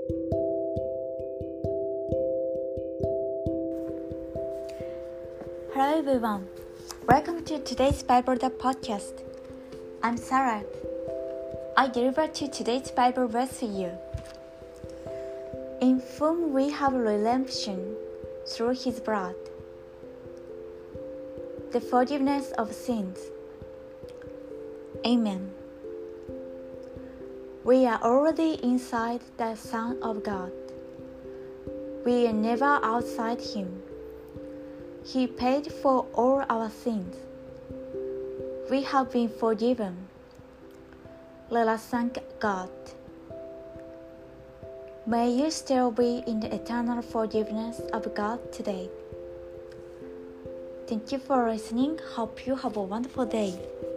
Hello everyone, welcome to today's Bible podcast. I'm Sarah. I deliver to today's Bible verse for you. In whom we have redemption through his blood, the forgiveness of sins. Amen. We are already inside the Son of God. We are never outside him. He paid for all our sins. We have been forgiven. Let us thank God. May you still be in the eternal forgiveness of God today. Thank you for listening. Hope you have a wonderful day.